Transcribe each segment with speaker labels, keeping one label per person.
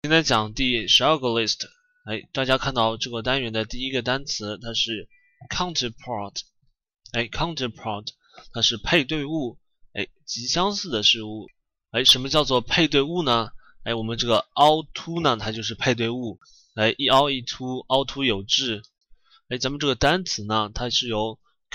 Speaker 1: 今天讲第12个 list。大家看到这个单元的第一个单词，它是 counterpart。counterpart 它是配对物，极相似的事物。什么叫做配对物呢？我们这个凹凸呢，它就是配对物。一凹一凸，凹凸有致。咱们这个单词呢，它是由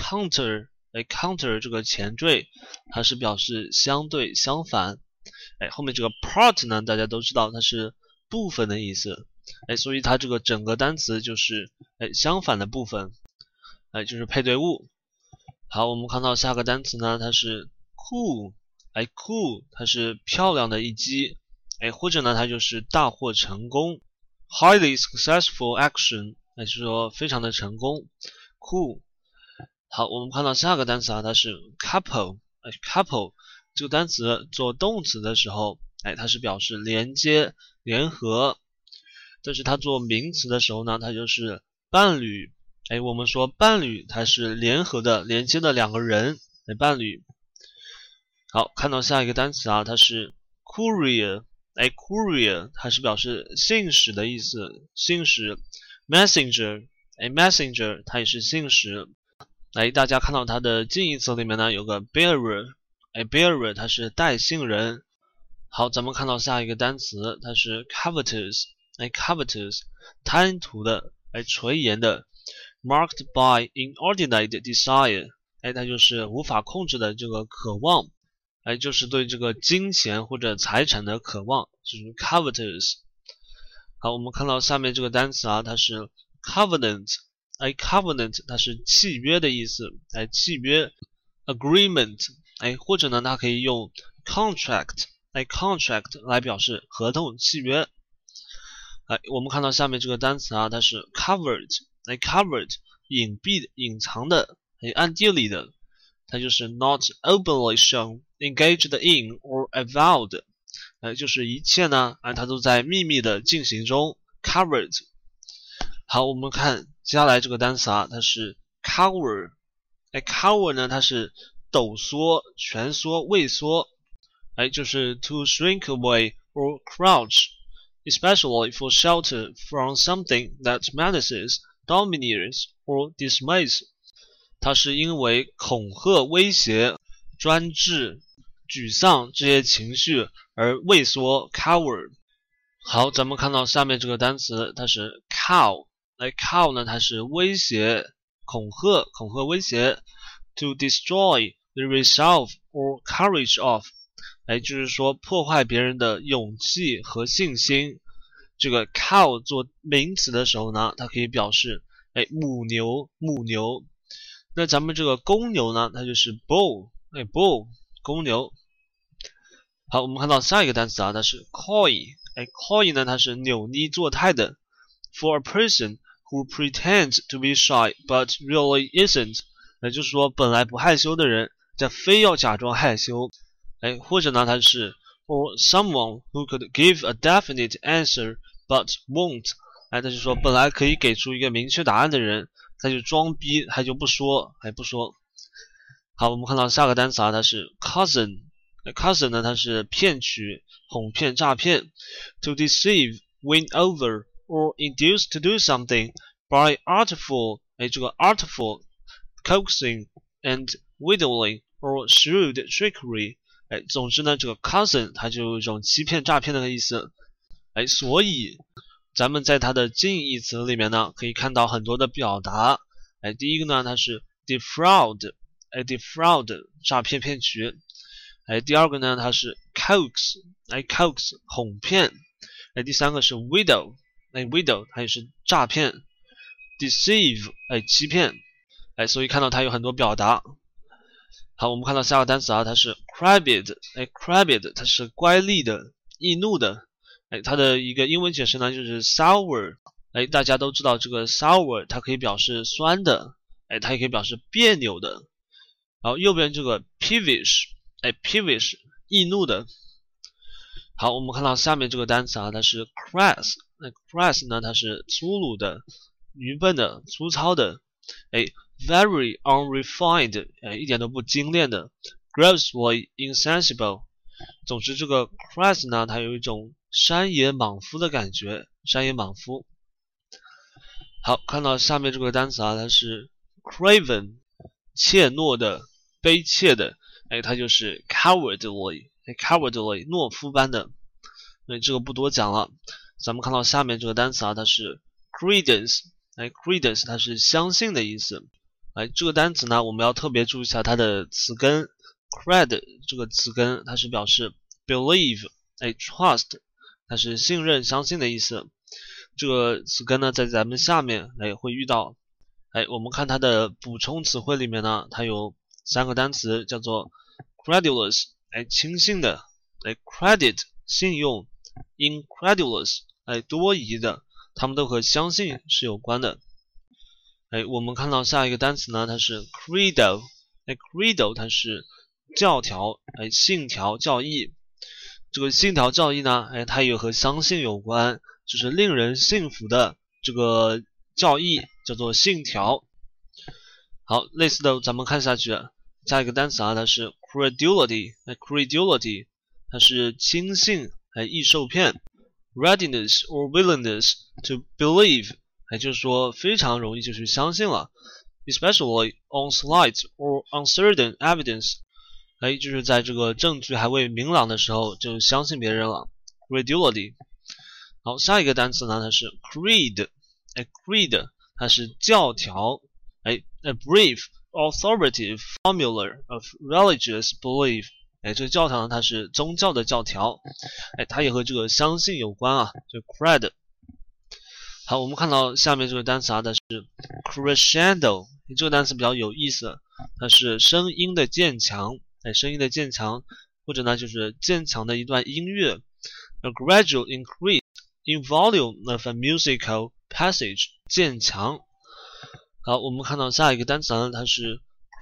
Speaker 1: counter 这个前缀，它是表示相对相反。后面这个 part 呢，大家都知道它是部分的意思。所以它这个整个单词就是相反的部分，就是配对物。好，我们看到下个单词呢，它是 cool。cool 它是漂亮的一击，或者呢它就是大获成功 ，highly successful action， 就是说非常的成功 ，cool。好，我们看到下个单词啊，它是 couple。couple 这个单词做动词的时候，它是表示连接、联合。但是它做名词的时候呢，它就是伴侣。我们说伴侣它是联合的、连接的两个人，伴侣。好，看到下一个单词啊，它是 courier。courier 它是表示信使的意思，信使。messenger 它也是信使。大家看到它的近义词里面呢有个 bearer。bearer 它是带信人。好，咱们看到下一个单词，它是 covetous。covetous 贪图的，垂涎的 marked by inordinate desire， 它就是无法控制的这个渴望，就是对这个金钱或者财产的渴望，就是 covetous。好，我们看到下面这个单词啊，它是 covenant。covenant 它是契约的意思，契约 agreement， 或者呢它可以用 contract。contract 来表示合同、契约。我们看到下面这个单词啊，它是 covered。covered 隐蔽的、隐藏的、暗地里的，它就是 not openly shown, engaged in or avowed， 就是一切呢，它都在秘密的进行中 covered。好，我们看接下来这个单词啊，它是 cower。cower 呢，它是抖缩、蜷缩、畏缩，就是 to shrink away or crouch。especially for shelter from something that menaces, domineers, or dismays。 它是因为恐吓、威胁、专制、沮丧这些情绪而畏缩 cower。 好，咱们看到下面这个单词，它是 cow。cow 呢，它是威胁、恐吓、威胁 to destroy the resolve or courage of，就是说破坏别人的勇气和信心。这个 cow 做名词的时候呢，它可以表示母牛。那咱们这个公牛呢，它就是 bull。bull 公牛。好，我们看到下一个单词啊，它是 coy。coy 呢，它是扭捏作态的 for a person who pretends to be shy but really isn't，就是说本来不害羞的人，但非要假装害羞。或者呢，它是 or someone who could give a definite answer but won't，他就说本来可以给出一个明确答案的人，他就装逼，他就不说。好，我们看到下个单词啊，它是 cousin。cousin 呢，它是骗取、哄骗、诈骗 to deceive, win over, or induce to do something by artful，这个 artful coaxing and wheedling or shrewd trickery。总之呢，这个 cousin 它就有一种欺骗、诈骗的意思。所以咱们在它的近义词里面呢，可以看到很多的表达。第一个呢，它是 defraud，defraud 诈骗、骗取。第二个呢，它是 coax，coax 哄骗。第三个是 wheedle，wheedle 它也是诈骗。deceive 欺骗。所以看到它有很多表达。好，我们看到下个单词啊，它是 crabbed。crabbed 它是乖戾的、易怒的。它的一个英文解释呢就是 sour。大家都知道这个 sour 它可以表示酸的，它也可以表示别扭的。然后右边这个 peevish，peevish 易怒的。好，我们看到下面这个单词啊，它是 crass。crass 呢，它是粗鲁的、愚笨的、粗糙的。very unrefined，一点都不精炼的 grossly insensible。总之这个 crass 呢，它有一种山野莽夫的感觉，山野莽夫。好，看到下面这个单词啊，它是 craven， 怯懦的，卑怯的，它就是 cowardly， cowardly， 懦夫般的。这个不多讲了。咱们看到下面这个单词啊，它是 credence， credence 它是相信的意思。这个单词呢，我们要特别注意一下它的词根 cred 这个词根，它是表示 believe， trust， 它是信任、相信的意思。这个词根呢，在咱们下面会遇到。我们看它的补充词汇里面呢，它有3个单词叫做 credulous， 轻信的，credit 信用， incredulous 多疑的，它们都和相信是有关的。我们看到下一个单词呢，它是 credo， credo 它是教条，信条、教义。这个信条、教义呢，它也和相信有关，就是令人信服的这个教义叫做信条。好，类似的咱们看下去，下一个单词啊，它是 credulity， credulity 它是轻信，易受骗。readiness or willingness to believe， 就是说非常容易就去相信了 ，especially on slight or uncertain evidence， 就是在这个证据还未明朗的时候就相信别人了 ，credulity。好，下一个单词呢，它是 creed， creed 它是教条，a brief authoritative formula of religious belief， 这个教条呢，它是宗教的教条，它也和这个相信有关啊，就 cred。好，我们看到下面这个单词啊，它是 crescendo， 这个单词比较有意思，它是声音的渐强，声音的渐强，或者呢就是渐强的一段音乐 ，a gradual increase in volume of a musical passage， 渐强。好，我们看到下一个单词呢，它是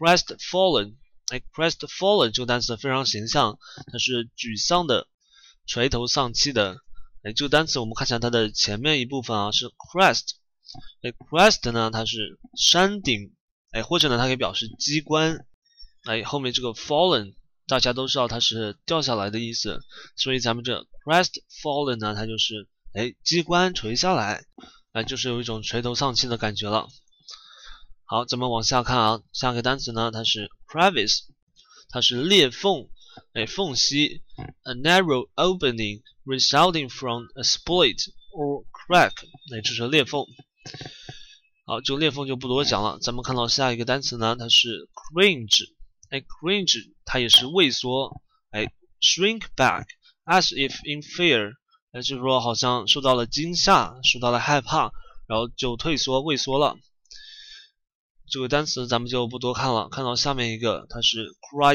Speaker 1: crestfallen，crestfallen 这个单词非常形象，它是沮丧的，垂头丧气的。这个单词我们看一下它的前面一部分啊，是 crest，crest 呢它是山顶，或者呢它可以表示机关，后面这个 fallen 大家都知道它是掉下来的意思，所以咱们这 crestfallen 呢，它就是机关垂下来，就是有一种垂头丧气的感觉了。好，咱们往下看啊，下个单词呢，它是 crevice， 它是裂缝，缝隙 ，a narrow opening resulting from a split or crack， 这是裂缝。好，这个裂缝就不多讲了。咱们看到下一个单词呢，它是 cringe，cringe 它也是畏缩，shrink back as if in fear，就是说好像受到了惊吓，受到了害怕，然后就退缩、畏缩了。这个单词咱们就不多看了，看到下面一个，它是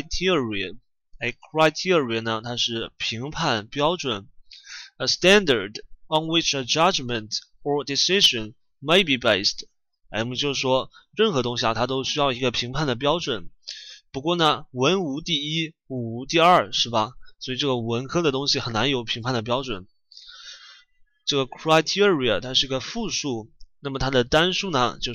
Speaker 1: criterion，criterion 呢，它是评判标准 ，a standard on which a judgment or decision may be based。我们就是说，任何东西啊，它都需要一个评判的标准。不过呢，文无第一，武无第二，是吧？所以这个文科的东西很难有评判的标准。这个 criteria 它是个复数。那么它的单数呢，就是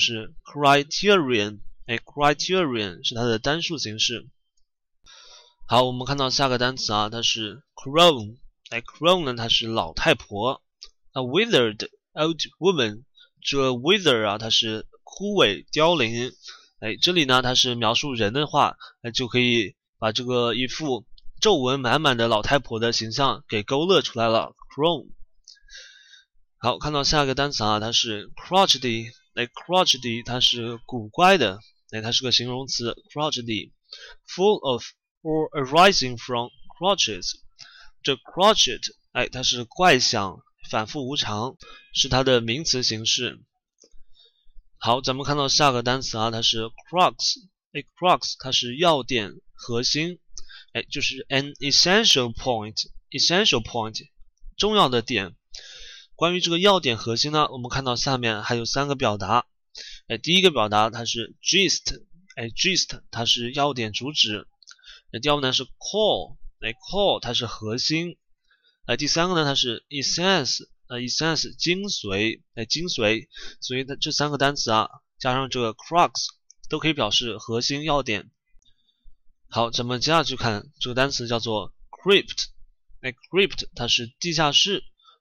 Speaker 1: criterion，criterion 是它的单数形式。好，我们看到下个单词啊，它是 crone，crone 呢，它是老太婆 ，a withered old woman， 这个 wither 啊，它是枯萎凋零，这里呢，它是描述人的话，就可以把这个一副皱纹满满的老太婆的形象给勾勒出来了 ，crone。好，看到下一个单词啊，它是 crotchety，crotchety 它是古怪的，它是个形容词 crotchety，full of or arising from crotches。这 crotchet，它是怪想，反复无常，是它的名词形式。好，咱们看到下个单词啊，它是 crux，crux 它是要点、核心，就是 an essential point，essential point 重要的点。关于这个要点核心呢，我们看到下面还有3个表达。第一个表达它是 gist，gist 它是要点主旨。第二个呢是 core，core 它是核心。第3个呢它是 essence，essence 精髓，精髓。所以这3个单词啊，加上这个 crux 都可以表示核心要点。好，咱们接下去看这个单词叫做 crypt，crypt 它是地下室。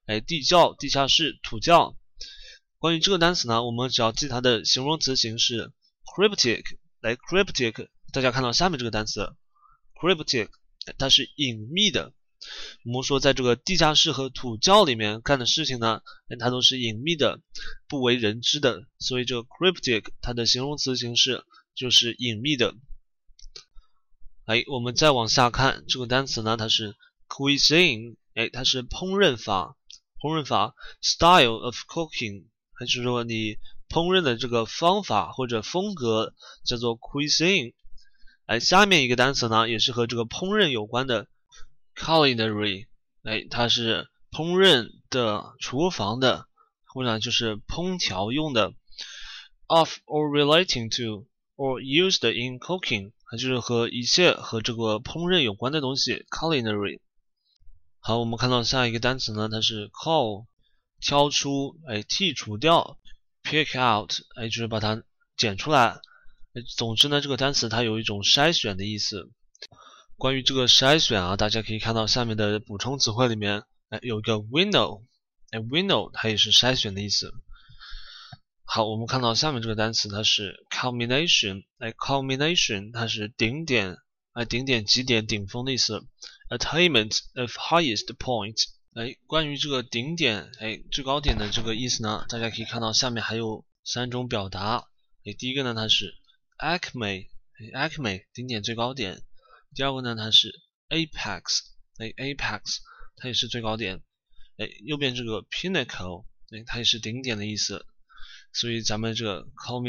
Speaker 1: 地窖、地下室、土窖。关于这个单词呢，我们只要记它的形容词形式 cryptic。cryptic， 大家看到下面这个单词 cryptic， 它是隐秘的。我们说在这个地下室和土窖里面干的事情呢，它都是隐秘的，不为人知的，所以这个 cryptic 它的形容词形式就是隐秘的。我们再往下看这个单词呢，它是 cuisine， 它是烹饪法，style of cooking， 就是说你烹饪的这个方法或者风格叫做 cuisine。下面一个单词呢，也是和这个烹饪有关的 culinary， 它是烹饪的、厨房的，或者就是烹调用的 of or relating to or used in cooking， 它就是和一切和这个烹饪有关的东西 culinary。 好，我们看到下一个单词呢，它是 cull， 挑出，剔除掉， pick out， 就是把它剪出来。总之呢，这个单词它有一种筛选的意思。关于这个筛选啊，大家可以看到下面的补充词汇里面，有一个 winnow，winnow 它也是筛选的意思。好，我们看到下面这个单词，它是 culmination，culmination 它是顶点，顶点、极点、顶峰的意思。attainment of highest point，关于这个顶点，最高点的这个意思呢，大家可以看到下面还有3种表达。第一个呢，它是 acme， 顶点最高点。第二个呢，它是 apex，apex 它也是最高点。右边这个 pinnacle，它也是顶点的意思。所以咱们这个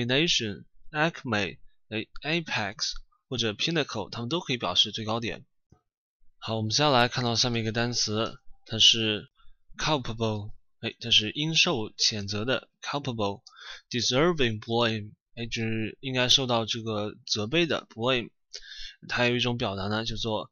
Speaker 1: culmination、acme、apex 或者 pinnacle， 它们都可以表示最高点。好，我们接下来看到下面一个单词，它是 culpable，它是应受谴责的 culpable。deserving blame，就是应该受到这个责备的 blame。它有一种表达呢，叫做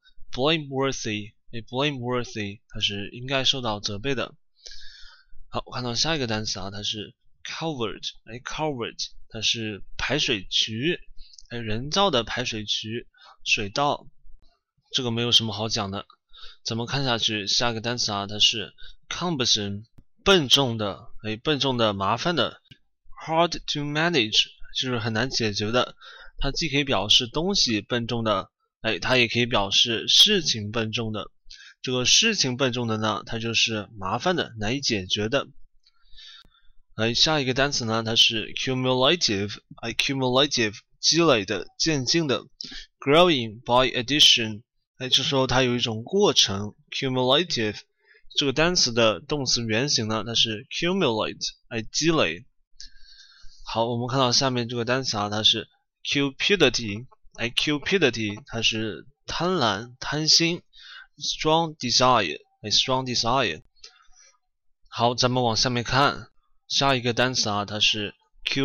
Speaker 1: blameworthy，blameworthy 它是应该受到责备的。好，看到下一个单词啊，它是 culvert，culvert 它是排水渠，人造的排水渠、水道。这个没有什么好讲的，咱们看下去，下一个单词啊，它是 cumbersome， 笨重的，笨重的、麻烦的 ，hard to manage 就是很难解决的。它既可以表示东西笨重的，它也可以表示事情笨重的。这个事情笨重的呢，它就是麻烦的、难以解决的。下一个单词呢，它是 cumulative，cumulative 积累的、渐进的 ，growing by addition，就说它有一种过程 cumulative。这个单词的动词原形呢，它是 cumulate，积累。好，我们看到下面这个单词啊，它是 cupidity，cupidity 它是贪婪、贪心 ，strong desire，strong desire。好，咱们往下面看，下一个单词啊，它是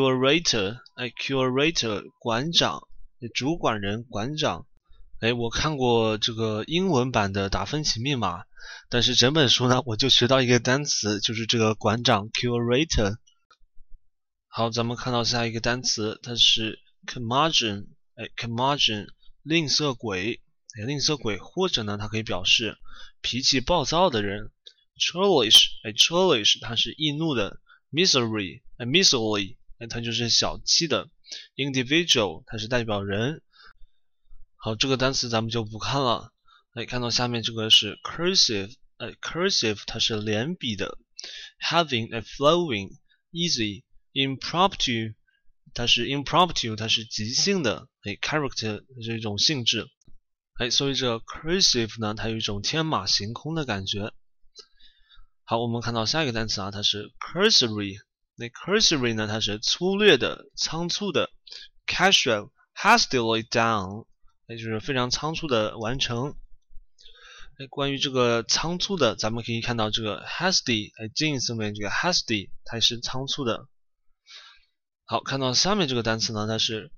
Speaker 1: curator，curator 馆长、主管人、馆长。我看过这个英文版的达芬奇密码，但是整本书呢，我就学到一个单词，就是这个馆长 curator。好，咱们看到下一个单词，它是 curmudgeon，curmudgeon 吝啬鬼，吝啬鬼，或者呢，它可以表示脾气暴躁的人。churlish，churlish 它是易怒的。miserly，miserly 它就是小气的。individual 它是代表人。好，这个单词咱们就不看了。看到下面这个是 cursive，cursive 它是连笔的。having a flowing easy impromptu 它是 impromptu 它是即兴的。character 是一种性质。所以这 cursive 呢，它有一种天马行空的感觉。好，我们看到下一个单词啊，它是 cursory。cursory 呢，它是粗略的、仓促的。casual hastily done，就是非常仓促的完成。关于这个仓促的，咱们可以看到这个 hasty， 近义词里面这个 hasty 它是仓促的。好，看到下面这个单词呢，它是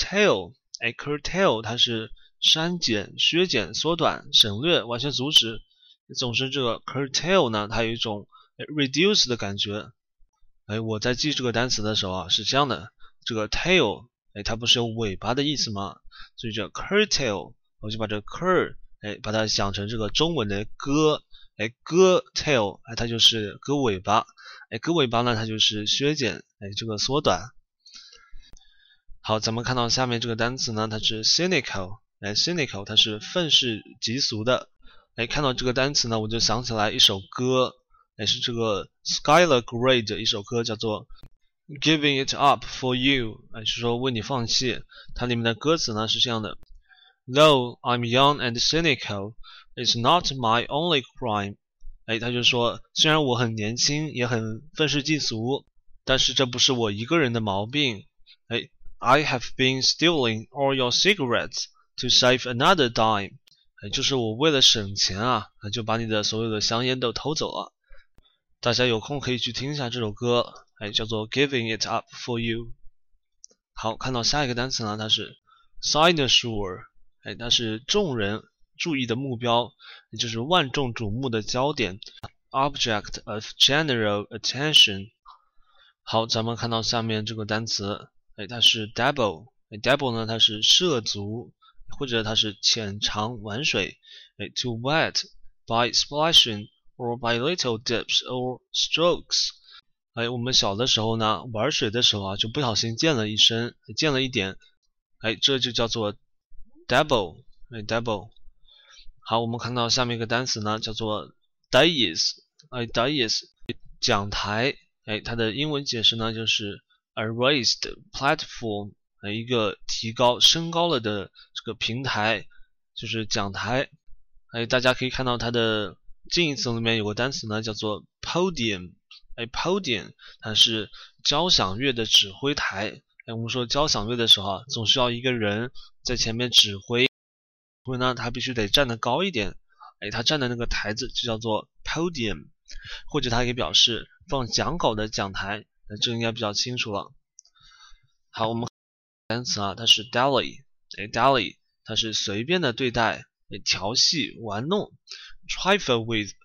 Speaker 1: curtail，curtail 它是删减、削减、缩短、省略、完全阻止。总之这个 curtail 呢，它有一种 reduce 的感觉。我在记这个单词的时候啊，是这样的，这个 tail，它不是有尾巴的意思吗？所以这 curtail，我就把这个 cur，把它想成这个中文的歌， 哎，割 tail， 哎，它就是割尾巴，哎，割尾巴呢，它就是削减，哎，这个缩短。好，咱们看到下面这个单词呢，它是 cynical， 哎 ，cynical 它是愤世嫉俗的。哎，看到这个单词呢，我就想起来一首歌，哎，是这个 Skylar Grey 的一首歌，叫做 Giving It Up For You， 哎，是说为你放弃。它里面的歌词呢是这样的 ：Though I'm young and cynical, it's not my only crime。哎，他就说，虽然我很年轻，也很愤世嫉俗，但是这不是我一个人的毛病。哎 ，I have been stealing all your cigarettes to save another dime。就是我为了省钱啊，就把你的所有的香烟都偷走了。大家有空可以去听一下这首歌，叫做 Giving It Up For You。好，看到下一个单词呢，它是 cynosure， 它是众人注意的目标，也就是万众瞩目的焦点 ，object of general attention。好，咱们看到下面这个单词，它是 dabble，dabble 呢，它是涉足。或者它是浅尝玩水，to wet by splashing or by little dips or strokes。我们小的时候呢，玩水的时候啊，就不小心溅了一身，溅了一点，这就叫做 dabble，dabble。好，我们看到下面一个单词呢，叫做 dais，dais 讲台，它的英文解释呢就是 a raised platform。一个提高升高了的这个平台，就是讲台。大家可以看到它的近义词里面有个单词呢，叫做 podium。podium 它是交响乐的指挥台。我们说交响乐的时候啊，总需要一个人在前面指挥，所以呢，他必须得站得高一点。他站的那个台子就叫做 podium， 或者它可以表示放讲稿的讲台。这应该比较清楚了。好，我们单词啊，它是 dally，dally 它是随便的对待，调戏、玩弄 ，trifle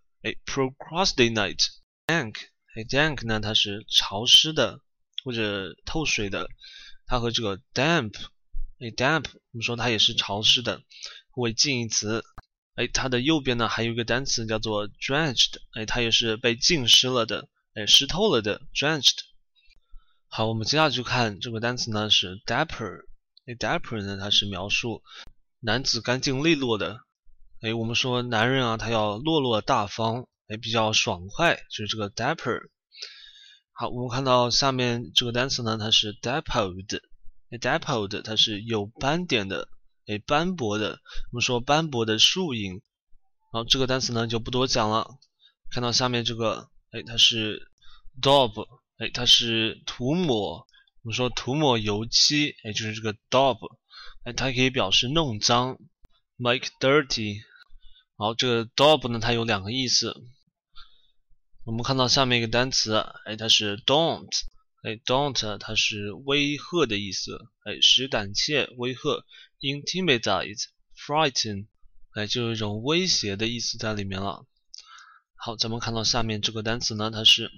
Speaker 1: with，procrastinate，dank，dank 呢它是潮湿的或者透水的，它和这个 damp，damp 我们说它也是潮湿的，为近义词。它的右边呢还有一个单词叫做 drenched，它也是被浸湿了的，湿透了的 drenched。好，我们接下来就看这个单词呢是 dapper，dapper 呢它是描述男子干净利落的，我们说男人啊他要落落大方，比较爽快，就是这个 dapper。好，我们看到下面这个单词呢它是 dappled，dappled 它是有斑点的，斑驳的，我们说斑驳的树影。好，这个单词呢就不多讲了，看到下面这个，它是 daub。它是涂抹，我们说涂抹油漆，就是这个 daub，它可以表示弄脏 ，make dirty。好，这个 daub 呢，它有两个意思。我们看到下面一个单词，它是 daunt，daunt 它是威吓的意思，使胆怯、威吓 ，intimidate，frighten，就有一种威胁的意思在里面了。好，咱们看到下面这个单词呢，它是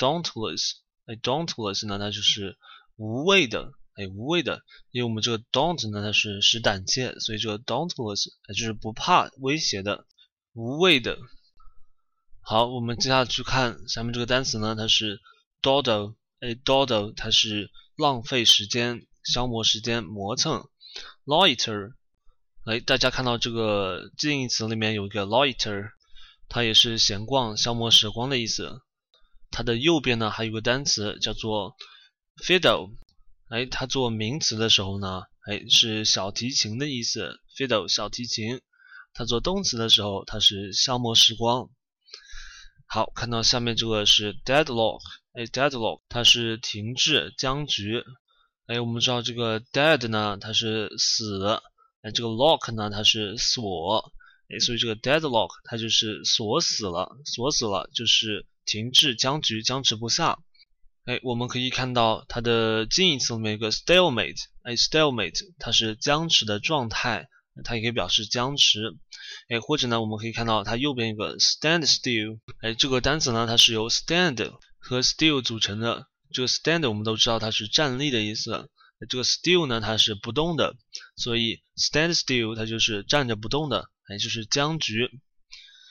Speaker 1: dauntless，dauntless 呢，它就是无畏的，无畏的，因为我们这个 daunt 呢，它是使胆怯，所以这个 dauntless 就是不怕威胁的，无畏的。好，我们接下来去看下面这个单词呢，它是 dawdle，dawdle 它是浪费时间、消磨时间、磨蹭 ，loiter，大家看到这个近义词里面有一个 loiter， 它也是闲逛、消磨时光的意思。它的右边呢还有个单词叫做 fiddle，它做名词的时候呢，是小提琴的意思 ，fiddle 小提琴。它做动词的时候，它是消磨时光。好，看到下面这个是 deadlock，deadlock 它是停滞、僵局。我们知道这个 dead 呢，它是死，这个 lock 呢，它是锁，所以这个 deadlock 它就是锁死了，锁死了就是停滞、僵局、僵持不下。我们可以看到它的近义词里面有个 stalemate，stalemate 它是僵持的状态，它也可以表示僵持。或者呢，我们可以看到它右边有个 stand still，这个单词呢，它是由 stand 和 still 组成的。这个 stand 我们都知道它是站立的意思，这个 still 呢，它是不动的，所以 stand still 它就是站着不动的，就是僵局。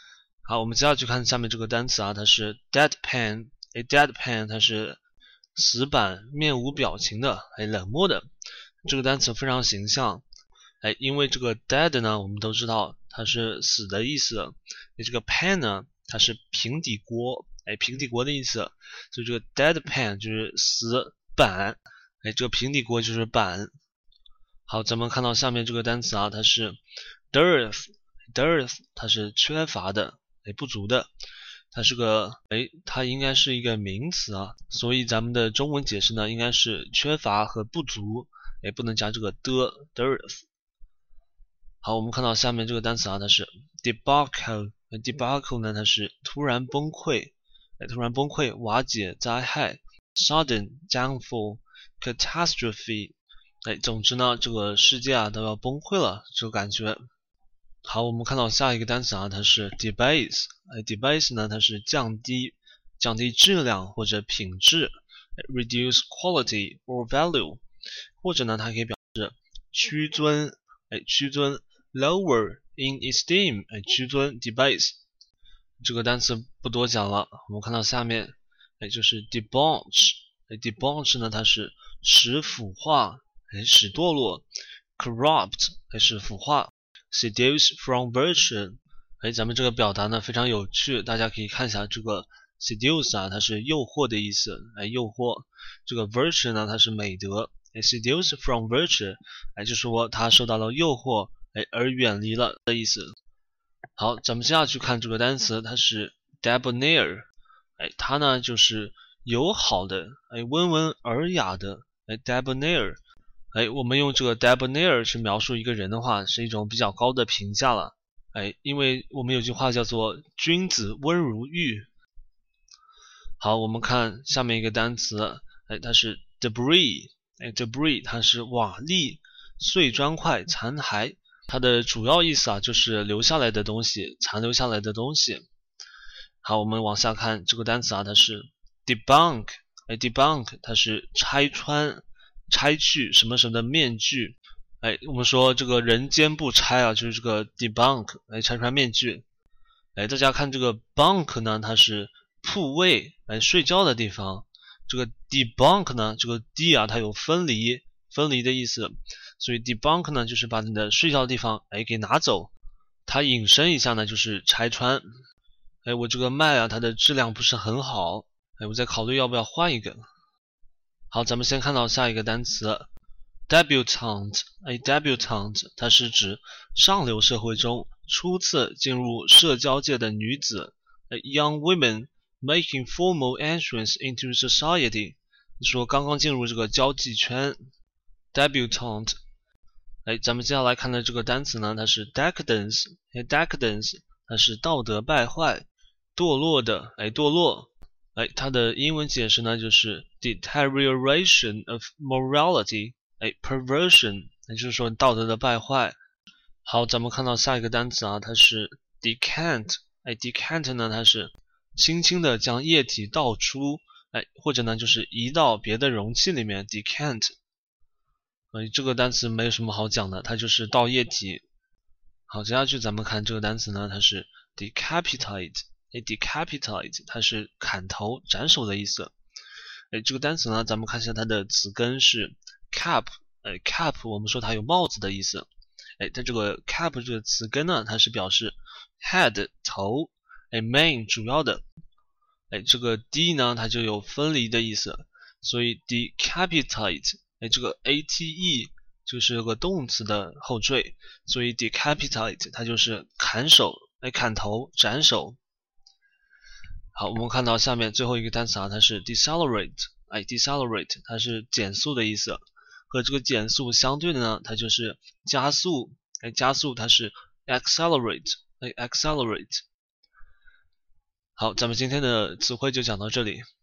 Speaker 1: 好，我们接下去看下面这个单词啊，它是 deadpan， deadpan 它是死板、面无表情的，冷漠的。这个单词非常形象，因为这个 dead 呢，我们都知道它是死的意思，这个 pan 呢，它是平底锅，平底锅的意思，所以这个 deadpan 就是死板，这个平底锅就是板。好，咱们看到下面这个单词啊，它是 dearth， 它是缺乏的，不足的。它是个它应该是一个名词啊，所以咱们的中文解释呢，应该是缺乏和不足，不能加这个的 dearth。好，我们看到下面这个单词啊，它是 debacle，debacle 呢，它是突然崩溃，突然崩溃、瓦解、灾害 ，sudden downfall，catastrophe，总之呢，这个世界啊都要崩溃了，这个感觉。好，我们看到下一个单词啊，它是 debase，debase 呢，它是降低质量或者品质 ，reduce quality or value， 或者呢，它可以表示屈尊，屈尊 lower in esteem， 屈尊 debase。这个单词不多讲了，我们看到下面，就是 debauch，debauch 呢，它是使腐化，使堕落 ，corrupt 是腐化。seduce from virtue， 咱们这个表达呢非常有趣，大家可以看一下这个 seduce 啊，它是诱惑的意思，诱惑。这个 virtue 呢，它是美德，seduce from virtue， 就说他受到了诱惑，而远离了的意思。好，咱们接下去看这个单词，它是 debonair， 它呢就是友好的，温文尔雅的，debonair。我们用这个 debonair 去描述一个人的话，是一种比较高的评价了。因为我们有句话叫做君子温如玉。好，我们看下面一个单词，它是 debris，debris 它是瓦砾、碎砖块、残骸，它的主要意思啊就是留下来的东西，残留下来的东西。好，我们往下看这个单词啊，它是 debunk，debunk 它是拆穿。拆去什么什么的面具，我们说这个人间不拆啊，就是这个 debunk， 拆穿面具。大家看这个 bunk 呢，它是铺位，睡觉的地方。这个 debunk 呢，这个 d 啊，它有分离的意思，所以 debunk 呢，就是把你的睡觉的地方，给拿走。它引申一下呢，就是拆穿。我这个麦啊，它的质量不是很好，我在考虑要不要换一个。好，咱们先看到下一个单词 debutante，debutante 它是指上流社会中初次进入社交界的女子，young women making formal entrance into society， 说刚刚进入这个交际圈 debutante。咱们接下来看的这个单词呢，它是 decadence，decadence 它是道德败坏、堕落的，堕落。它的英文解释呢就是 deterioration of morality， perversion， 就是说道德的败坏。好，咱们看到下一个单词啊，它是 decant，decant 呢它是轻轻的将液体倒出，或者呢就是移到别的容器里面 decant。这个单词没有什么好讲的，它就是倒液体。好，接下去咱们看这个单词呢，它是 decapitate，decapitate 它是砍头斩首的意思。这个单词呢，咱们看一下它的词根是 cap，cap 我们说它有帽子的意思。它这个 cap 这个词根呢，它是表示 head 头，main 主要的。这个 d 呢，它就有分离的意思，所以 decapitate，这个 ate 就是有个动词的后缀，所以 decapitate 它就是砍手，砍头斩首。好，我们看到下面最后一个单词啊，它是 decelerate，decelerate 它是减速的意思，和这个减速相对的呢，它就是加速，加速它是 accelerate，accelerate。好，咱们今天的词汇就讲到这里。